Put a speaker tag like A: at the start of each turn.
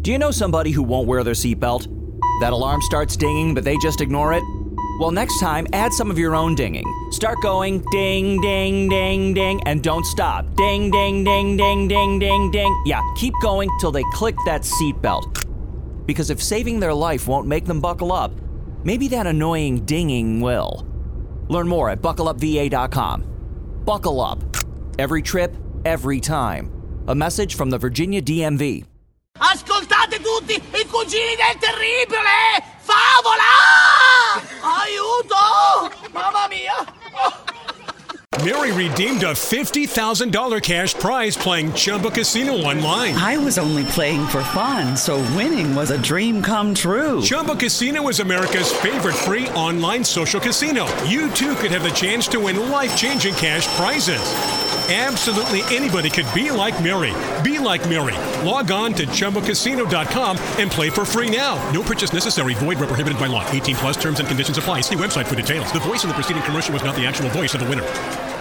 A: Do you know somebody who won't wear their seatbelt? That alarm starts dinging, but they just ignore it? Well, next time, add some of your own dinging. Start going ding, ding, ding, ding, and don't stop. Ding, ding, ding, ding, ding, ding, ding. Yeah, keep going till they click that seatbelt. Because if saving their life won't make them buckle up, maybe that annoying dinging will. Learn more at buckleupva.com. Buckle up. Every trip, every time. A message from the Virginia DMV.
B: Ascoltate tutti, i cugini del terribile! Favola! Aiuto! Mamma mia!
C: Mary redeemed a $50,000 cash prize playing Chumba Casino online.
D: I was only playing for fun, so winning was a dream come true.
C: Chumba Casino is America's favorite free online social casino. You too could have the chance to win life-changing cash prizes. Absolutely anybody could be like Mary. Be like Mary. Log on to ChumbaCasino.com and play for free now. No purchase necessary. Void where prohibited by law. 18 plus terms and conditions apply. See website for details. The voice in the preceding commercial was not the actual voice of the winner.